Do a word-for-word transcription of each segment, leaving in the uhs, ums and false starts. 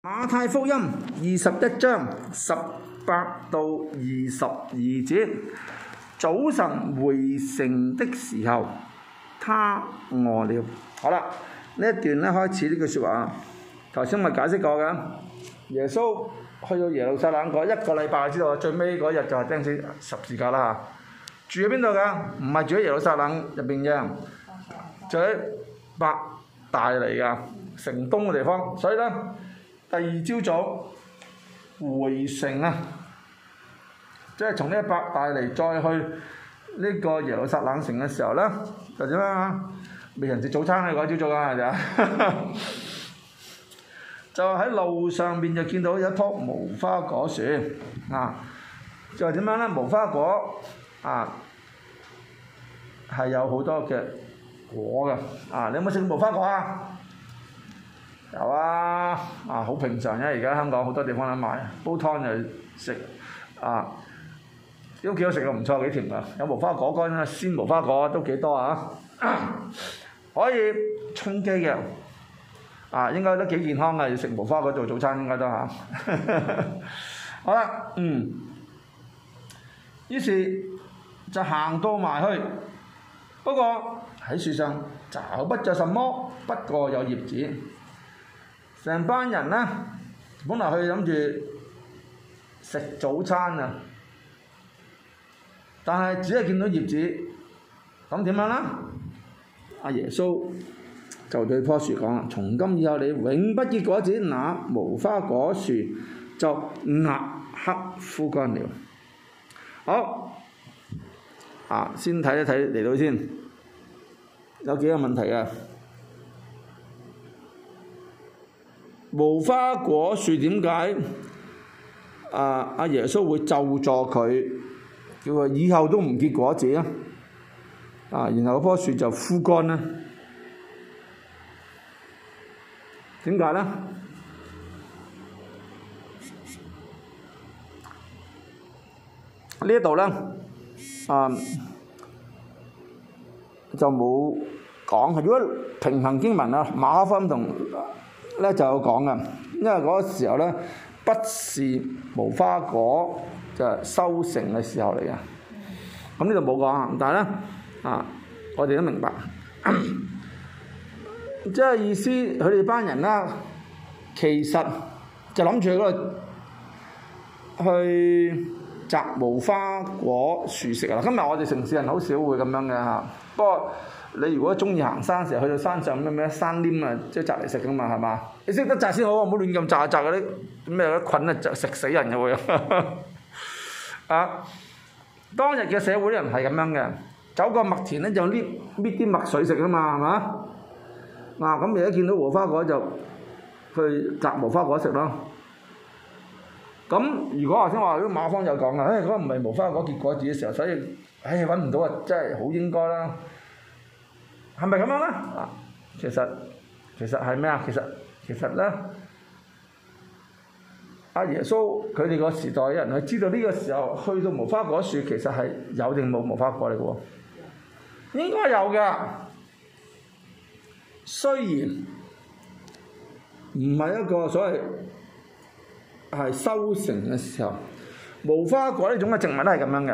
馬太福音二十一章十八到二十二節，早晨回城的時候，他餓了。好啦，呢一段咧開始呢句説話，頭先咪解釋過嘅。耶穌去到耶路撒冷嗰一個禮拜，知道最尾嗰日就係釘死十字架啦。住喺邊度㗎？唔係住喺耶路撒冷入邊嘅，住喺伯大尼㗎城東嘅地方。所以咧，第二朝早回城啊，即係從呢一伯大尼再去呢個耶路撒冷城嘅時候咧，就點啊？未人食早餐嘅嗰朝早啊，就就喺路上面就見到有一棵無花果樹啊，就係點樣咧？無花果啊係有好多嘅果嘅啊！你有冇食過無花果啊？有啊，啊好平常啫！而家香港好多地方都買，煲湯就食啊，都幾好食嘅，唔錯，幾甜㗎。有無花果乾啊，鮮無花果都幾多啊，可以充飢嘅，啊應該都幾健康嘅，要食無花果做早餐應該都嚇。好啦，嗯，於是就行到埋去，不過喺樹上找不着什麼，不過有葉子。成班人呢，本來去諗住食早餐啊，但係只係見到葉子，咁點樣呢？阿耶穌就對棵樹講啦：從今以後你永不結果子，那無花果樹就立刻枯乾了。好，啊，先睇一睇嚟到先，有幾個問題啊。無花果樹點解啊？阿耶穌會咒詛佢，叫佢以後都唔結果子啊！啊，然後嗰棵樹就枯乾啦。點解咧？呢一度咧，啊就冇講。如果平衡經文啊，馬可福音同咧就有講嘅，因為嗰個時候咧不是無花果就係收成嘅時候嚟嘅。咁呢度冇講，但係咧啊，我哋都明白，即係意思佢哋班人啦，其實就諗住去嗰度去摘無花果樹食啊！今日我哋城市人好少會咁樣嘅嚇，不過你如果中意行山，成日去到山上咩咩山稔啊，即係摘嚟食噶嘛，係嘛？你識得摘先好，唔好亂咁摘摘嗰啲咩嗰啲菌啊，就食死人嘅會啊！當日嘅社會啲人係咁樣嘅，走過麥田咧就搣搣啲麥穗食啊嘛，係嘛？嗱咁而家見到無花果就去摘無花果食咯。咁如果頭先話啲馬方有講啊，誒嗰個唔係無花果結果子嘅時候，所以誒揾唔到啊，真係好應該啦。係咪咁樣咧？啊，其實其實係咩啊？其實其實咧，阿耶穌佢哋個時代嘅人係知道呢個時候去到無花果樹，其實係有定冇無花果嚟嘅喎？應該有㗎，雖然唔係一個所謂係收成嘅時候，無花果呢種嘅植物都係咁樣嘅，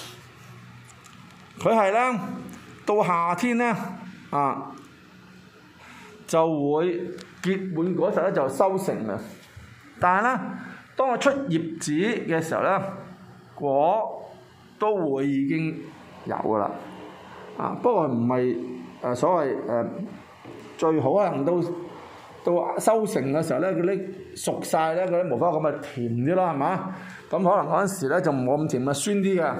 佢係咧到夏天咧。啊，就會結滿嗰時咧就收成啦。但係咧，當佢出葉子嘅時候咧，果都會已經有噶啦。啊，不過唔係誒所謂誒、呃、最好可能到到收成嘅時候咧，嗰啲熟晒咧，嗰啲無花果咪甜啲咯，係嘛？咁可能嗰陣時咧就冇咁甜，咪酸啲嘅。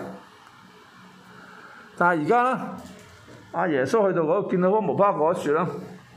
但係而家咧，阿耶穌去到嗰度見到嗰無花果樹啦，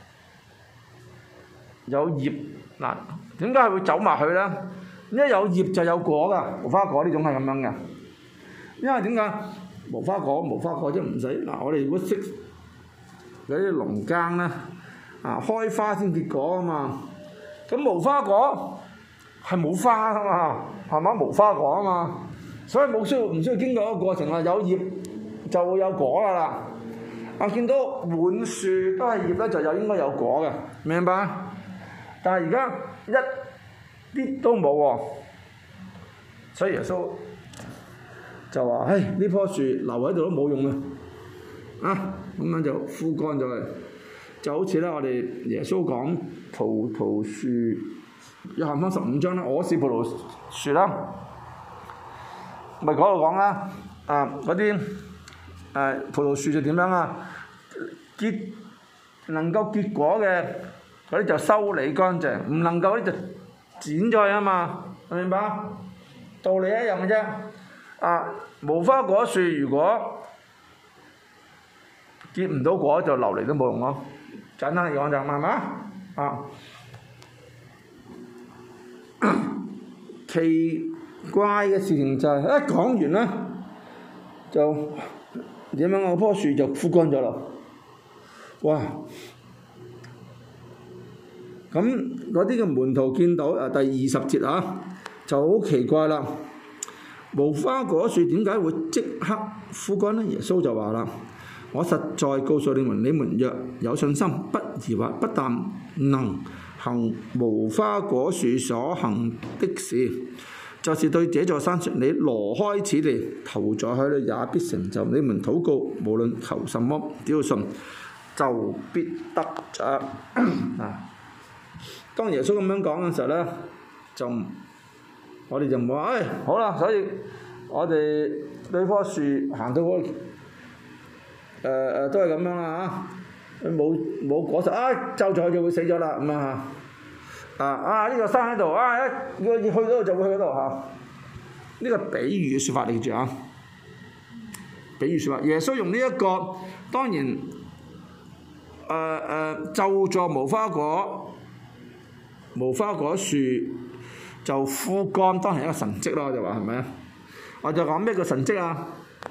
有葉嗱，點解係會走埋去咧？因為有葉就有果噶，無花果呢種係咁樣嘅。因為點解無花果無花果即係唔使嗱？我哋如果識嗰啲農耕咧，啊開花先結果啊嘛。咁無花果係冇花啊嘛，係嘛？無花果啊嘛，所以冇需要唔需要經過一個過程啊？有葉就會有果噶啦。我見到滿樹都係葉咧，就有應該有果嘅，明白？但係而家一啲都冇喎。所以耶穌就話：唉，呢棵樹留喺度都冇用啊！啊，咁樣就枯乾咗佢，就好似咧我哋耶穌講葡萄樹，約翰福音十五章啦，我是葡萄樹啦，咪嗰度講啦，啊嗰啲誒葡萄樹就點樣啊？結能夠結果嘅嗰啲就修理乾淨，唔能夠嗰啲就剪咗佢啊嘛，明白？道理一樣嘅啫。啊，無花果樹如果結唔到果就留嚟都冇用咯，簡單嚟講就係嘛，啊，奇怪嘅事情就係、是、一講完啦，就點樣嗰棵樹就枯乾咗啦，哇！咁嗰啲嘅門徒見到啊第二十節啊，就好奇怪啦，無花果樹點解會即刻枯乾呢？耶穌就話啦：我實在告訴你們，你們若有信心，不疑惑，不但能行無花果樹所行的事，就是對這座山說：你挪開此地，投在海裏，也必成就。你們禱告，無論求什麼，只要信，就必得着。啊！當耶穌咁樣講嘅時候咧，就我哋就唔會話，唉、哎，好啦，所以我哋呢棵樹行到嗰、那個。誒誒、呃、都係咁樣啦嚇，冇冇果實啊，就咗就會死咗啦咁啊嚇，啊啊呢、這個山喺度啊，一要去嗰度就會去嗰度嚇，呢、這個比喻嘅説法嚟住啊，比喻説法，耶穌用呢、這、一個當然誒誒、呃呃、就助無花果無花果樹就枯乾，當然係一個神蹟咯，我就話係咪啊？我就講咩叫神蹟啊？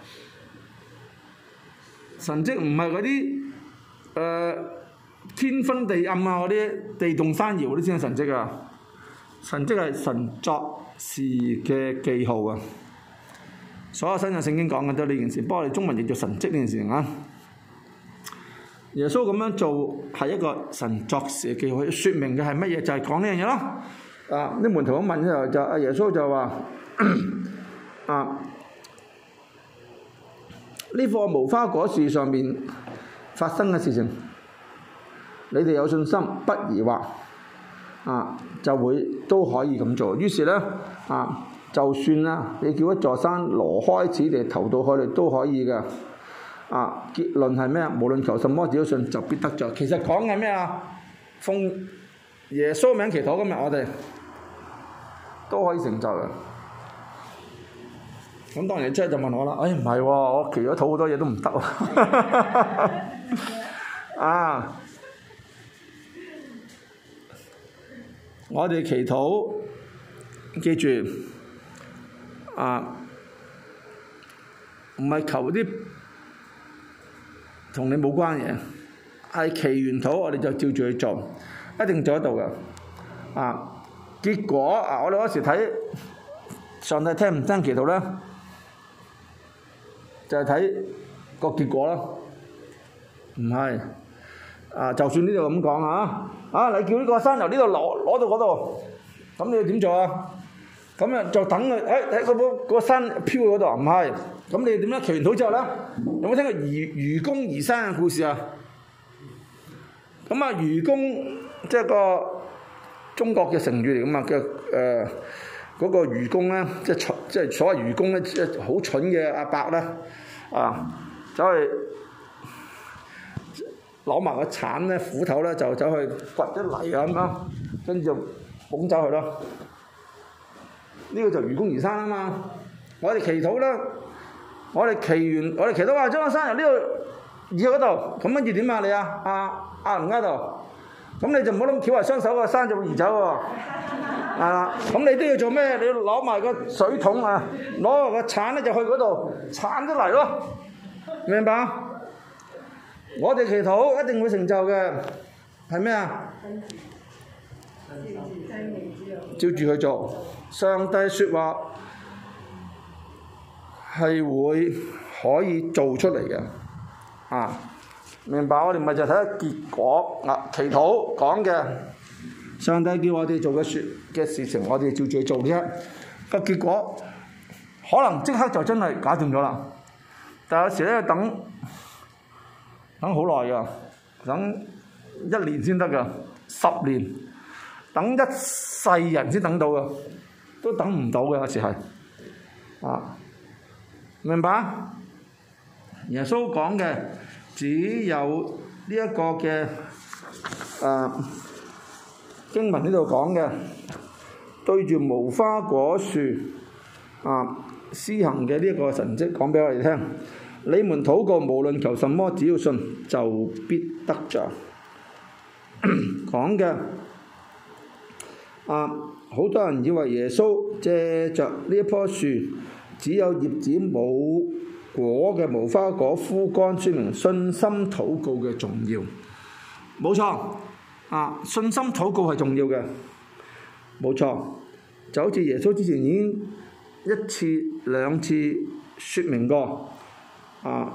神蹟唔係嗰啲誒天昏地暗啊，嗰啲地動山搖嗰啲先係神蹟啊！神蹟係神作事嘅記號啊！所有新約聖經講嘅都係呢件事，不過我哋中文譯做神蹟呢件事情啊！耶穌咁樣做係一個神作事嘅記號，説明嘅係乜嘢？就係講呢樣嘢咯。啊！啲門徒咁問之後，就阿耶穌就話：啊！呢棵無花果樹上面發生嘅事情，你哋有信心，不疑惑，啊，就會都可以咁做。於是咧，啊，就算啦，你叫一座山挪開此地，投到海裏都可以嘅。啊，結論係咩啊？無論求什麼，只要信，就必得着。其實講緊咩啊？奉耶穌名祈禱，今日我哋都可以成就嘅。咁當然即係就問我啦，哎唔係喎，我祈咗禱好多嘢都唔得喎，啊！我哋祈禱，記住，啊，唔係求啲同你冇關嘢，係祈完禱我哋就照住去做，一定做得到嘅。啊，結果啊，我哋嗰時睇上帝聽唔聽祈禱咧？就係睇個結果咯，唔係啊！就算呢度咁講啊，啊你叫呢個山由呢度攞攞到嗰度，咁你要點做啊？咁啊就等佢，誒喺嗰個山飄去嗰度，唔係，咁你點咧？祈完禱之後咧，有冇聽過愚愚公移山嘅故事啊？咁啊愚公即係個中國嘅成語嚟噶嘛，嘅誒嗰個愚公咧，即係蠢，即係所謂愚公咧，即係好蠢嘅阿伯咧。啊，走去攞埋個鏟咧，斧頭咧就走去掘啲泥咁樣，跟住就捧走佢咯。呢、這個就愚公移山啊嘛！我哋祈禱啦，我哋祈完，我哋祈禱話將個山由呢度移去嗰度，咁跟住點啊你啊？啊啊唔啱度，咁你就唔好諗翹埋雙手，個山就會移走喎。啊！咁你都要做咩？你要攞埋個水桶啊，攞埋個鏟咧就去嗰度鏟咗嚟咯，明白？我哋祈禱一定會成就嘅，係咩啊？照住去做，上帝説話係會可以做出嚟嘅，啊，明白？我哋咪就睇下結果啊，祈禱講嘅。 上帝叫我哋做嘅説嘅事情，我哋照住去做啫。個結果可能即刻就真係搞掂咗啦，但有時咧等等好耐㗎，等一年先得㗎，十年等一世人先等到㗎，都等唔到嘅有時係啊，明白？耶穌講嘅只有呢一個嘅誒、啊、經文呢度講嘅，對住無花果樹啊施行嘅呢一個神蹟講俾我哋聽。你們禱告，無論求什麼，只要信，就必得着。講嘅啊，好多人以為耶穌借着呢一棵樹只有葉子冇果嘅無花果枯乾，說明信心禱告嘅重要。冇錯，啊，信心禱告係重要嘅，冇錯。就好似耶穌之前已經一次兩次説明過。啊！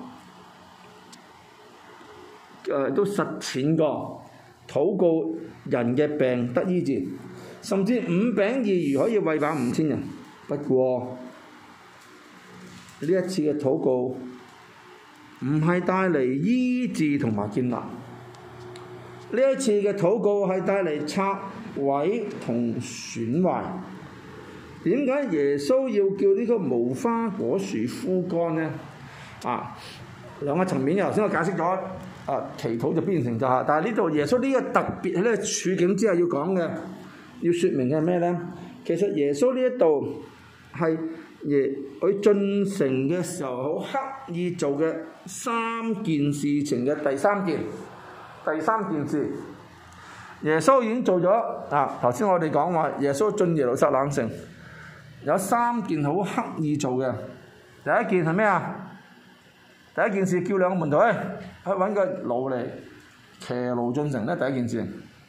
誒、呃、都實踐過，禱告人嘅病得醫治，甚至五餅二魚可以餵飽五千人。不過呢一次嘅禱告唔係帶嚟醫治同埋建立，呢一次嘅禱告係帶嚟拆毀同損壞。點解耶穌要叫呢個無花果樹枯乾呢？啊，兩個層面，頭先我解釋咗，啊，祈禱就必然成就下。但係呢度耶穌呢個特別喺呢個處境之下要講嘅，要説明嘅係咩咧？其實耶穌呢一度係耶佢進城嘅時候好刻意做嘅三件事情嘅第三件，第三件事，耶穌已經做咗。啊，頭先我哋講話耶穌進耶路撒冷城，有三件好刻意做嘅。第一件係咩啊？第一件事叫兩個門徒去去揾個驢嚟騎驢進城咧，第一件事。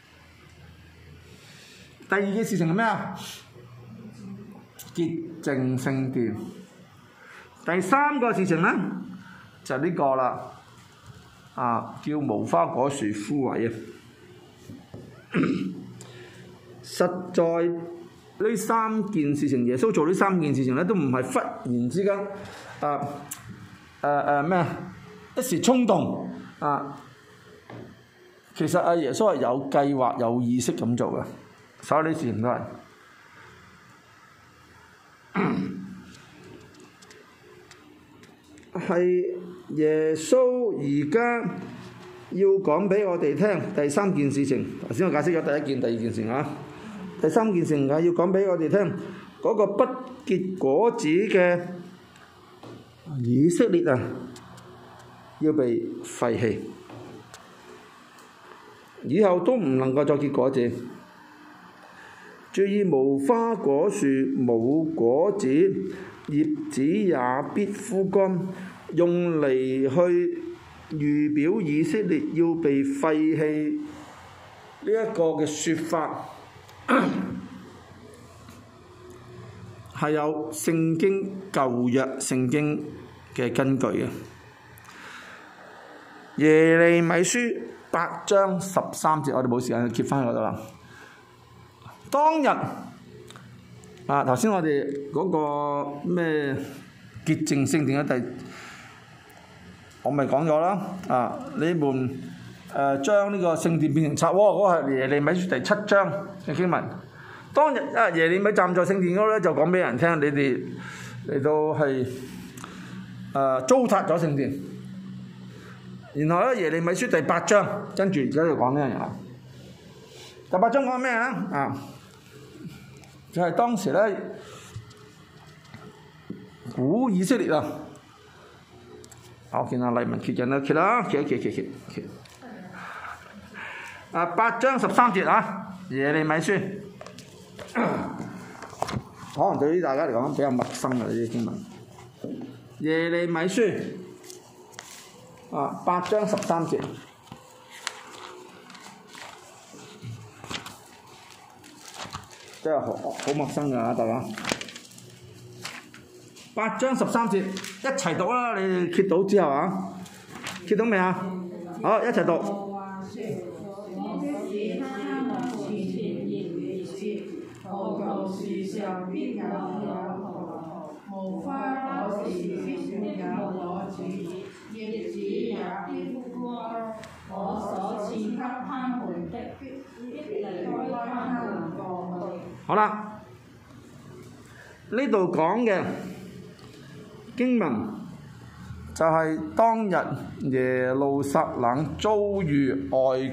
第二件事情係咩啊？潔淨聖殿。第三個事情咧就係、是、呢個啦，啊叫無花果樹枯萎啊！實在呢三件事情，耶穌做呢三件事情咧，都唔係忽然之間啊〜誒誒咩？一時衝動啊！其實阿耶穌係有計劃、有意識咁做嘅，所有呢啲事情都係係耶穌而家要講俾我哋聽第三件事情。頭先我解釋咗第一件、第二件事啊，第三件事情係要講俾我哋聽嗰個不結果子嘅以色列啊，要被廢棄，以後都唔能夠再結果子。注意，無花果樹冇果子，葉子也必枯乾，用嚟去預表以色列要被廢棄呢一個嘅説法，係有聖經舊約聖經嘅根據嘅。耶利米書八章十三節，我哋冇時間去揭翻嗰度啦。當日啊，頭先我哋嗰個咩潔淨聖殿嘅第，我咪講咗啦。啊，你們誒、呃、將呢個聖殿變成賊窩，嗰個係耶利米書第七章嘅經文。當日啊，耶利米站在聖殿嗰度咧，就講俾人聽，你哋嚟到係誒、呃、糟蹋咗聖殿。然後咧，耶利米書第八章，跟住而家就講呢樣嘢啦。第八章講咩啊？啊，就係、是、當時咧，古以色列啊，我見阿黎文揭緊啦，揭啦，揭一揭揭揭揭。啊，八章十三節啊，耶利米書，可能對於大家嚟講比較陌生嘅呢啲經文。耶利米書。啊，八章十三節，真係好好陌生㗎，大家。八章十三節，一齊讀啦！你哋揭到之後啊，揭到未啊？好，一齊讀。 上必有有葡萄，無花果時必沒有果子，葉子也必枯乾。我所賜給他們的，必離開他們過去。 好啦，呢度講嘅經文就係當日耶路撒冷遭遇外誒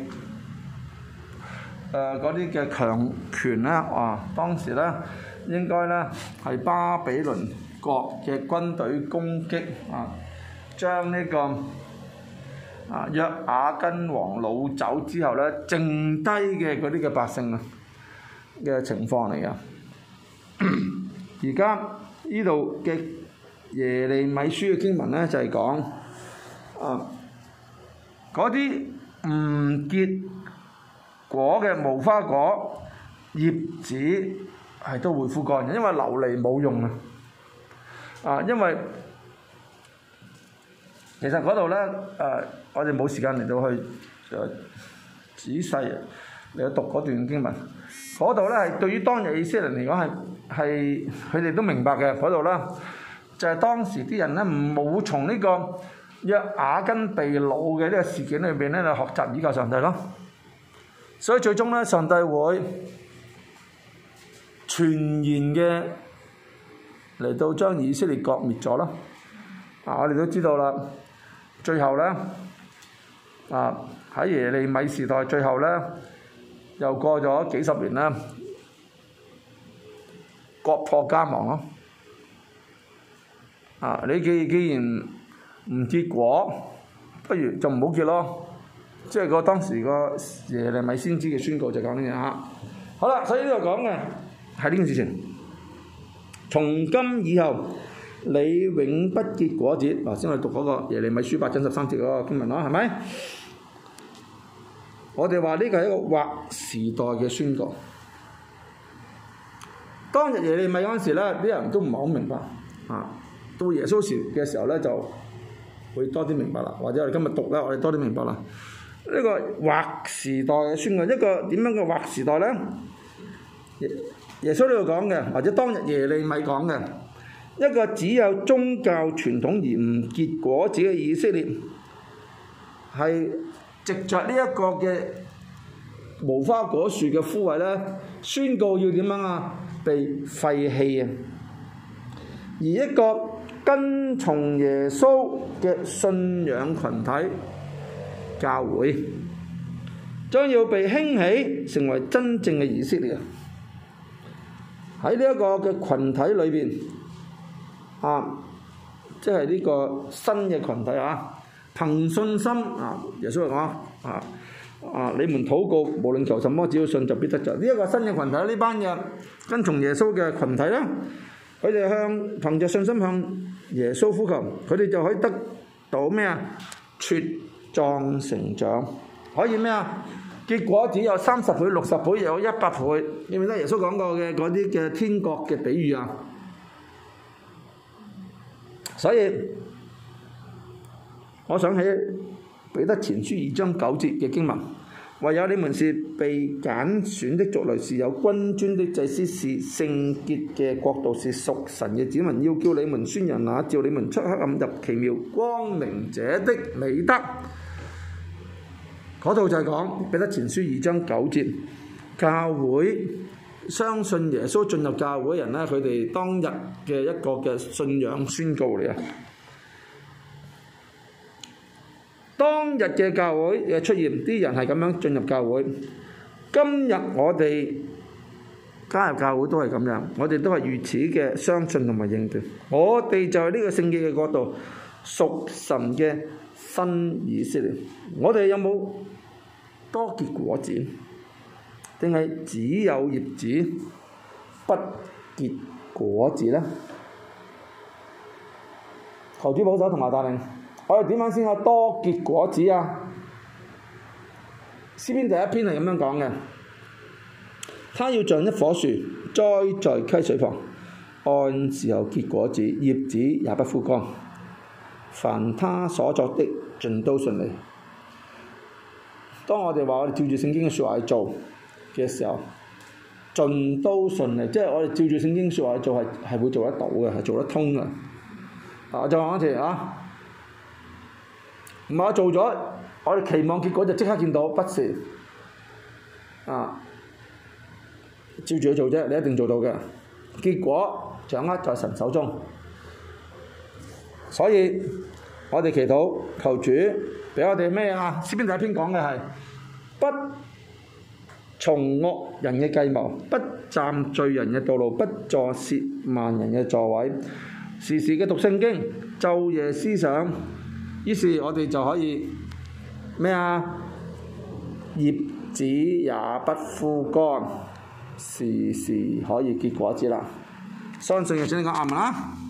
嗰啲嘅強權咧，啊當時咧應該咧係巴比倫國嘅軍隊攻擊啊，將呢、這個啊約雅斤王擄走之後咧，剩低嘅嗰啲嘅百姓啊嘅情況嚟噶。而家呢度嘅耶利米書嘅經文咧就係、是、講啊嗰啲唔結果嘅無花果葉子係都會枯乾嘅，因為流離冇用啊！啊，因為其實嗰度咧誒，我哋冇時間嚟到去誒、啊、仔細嚟讀嗰段經文。嗰度咧係對於當日以色列人嚟講係係佢哋都明白嘅。嗰度咧就係、是、當時啲人咧冇從呢個約雅斤被擄嘅呢個事件裏邊咧嚟學習依靠上帝咯。所以最終咧，上帝會全然嘅嚟到將以色列國滅咗啦。啊，我哋都知道啦，最後咧啊喺耶利米時代，最後咧又過咗幾十年啦，國破家亡咯。啊，你既既然唔結果，不如就唔好結咯。即係個當時個耶利米先知嘅宣告就講呢樣嚇。好啦，所以呢度講嘅係呢件事情。從今以後，你永不結果子。嗱，先我哋讀嗰個耶利米書八章十三節嗰個經文啦，係咪？我哋話呢個係一個劃時代嘅宣告。當日耶利米嗰陣時咧，啲人都唔係好明白啊。到耶穌時嘅時候咧，就會多啲明白啦。或者我哋今日讀咧，我哋多啲明白啦。呢個劃時代嘅宣告，一個點樣嘅劃時代咧？耶耶穌呢度講嘅，或者當日耶利米講嘅，一個只有宗教傳統而唔結果子嘅以色列，係藉着呢一個嘅無花果樹嘅枯萎咧，宣告要點樣啊？被廢棄啊！而一個跟從耶穌嘅信仰群體，教會將要被興起，成為真正嘅以色列。喺呢一個嘅群體裏邊，啊，即係呢個新嘅群體啊，憑信心啊，耶穌講啊啊，你們禱告，無論求什麼，只要信就必得着。呢、這、一個新嘅群體，呢班嘅跟從耶穌嘅群體咧，佢哋向憑着信心向耶穌呼求，佢哋就可以得到咩啊？茁壯成長，可以咩啊？結果只有三十倍、六十倍，有一百倍。記唔記得耶穌講過嘅嗰啲嘅天國嘅比喻啊？所以我想起彼得前書二章九節嘅經文，唯有你們是被揀選的族類，是有君尊的祭司，是聖潔嘅國度，是屬神嘅子民，要叫你們宣揚那召你們出黑暗入奇妙光明者的美德。嗰度就係講彼得前書二章九節，教會相信耶穌進入教會嘅人咧，佢哋當日嘅一個嘅信仰宣告嚟啊！當日嘅教會嘅出現，啲人係咁樣進入教會。今日我哋加入教會都係咁樣，我哋都係如此嘅相信同埋認定。我哋就係呢個聖潔嘅國度，屬神嘅新以色列。我哋有冇多結果子，定係只有葉子不結果子呢？求主保守同埋帶領，我哋點樣先可多結果子啊？詩篇第一篇係咁樣講嘅，他要像一棵樹栽在溪水旁，按時候結果子，葉子也不枯乾，凡他所作的盡都順利。當我哋話我哋照住聖經嘅説話去做嘅時候， 盡都順利，即係我哋照住聖經説話去做係係會做得到嘅，係做得通嘅。啊，我再講一次啊，唔係我做咗，我哋期望結果就即刻見到，不是啊，照住去做啫，你一定做到嘅。結果掌握在神手中，所以我哋祈禱求主俾我哋咩啊？詩篇第一篇講嘅係不從惡人嘅計謀，不站罪人嘅道路，不坐褻慢人嘅座位，時時嘅讀聖經，晝夜思想，於是我哋就可以咩啊？葉子也不枯乾，時時可以結果子啦。相信嘅請你講阿們啦。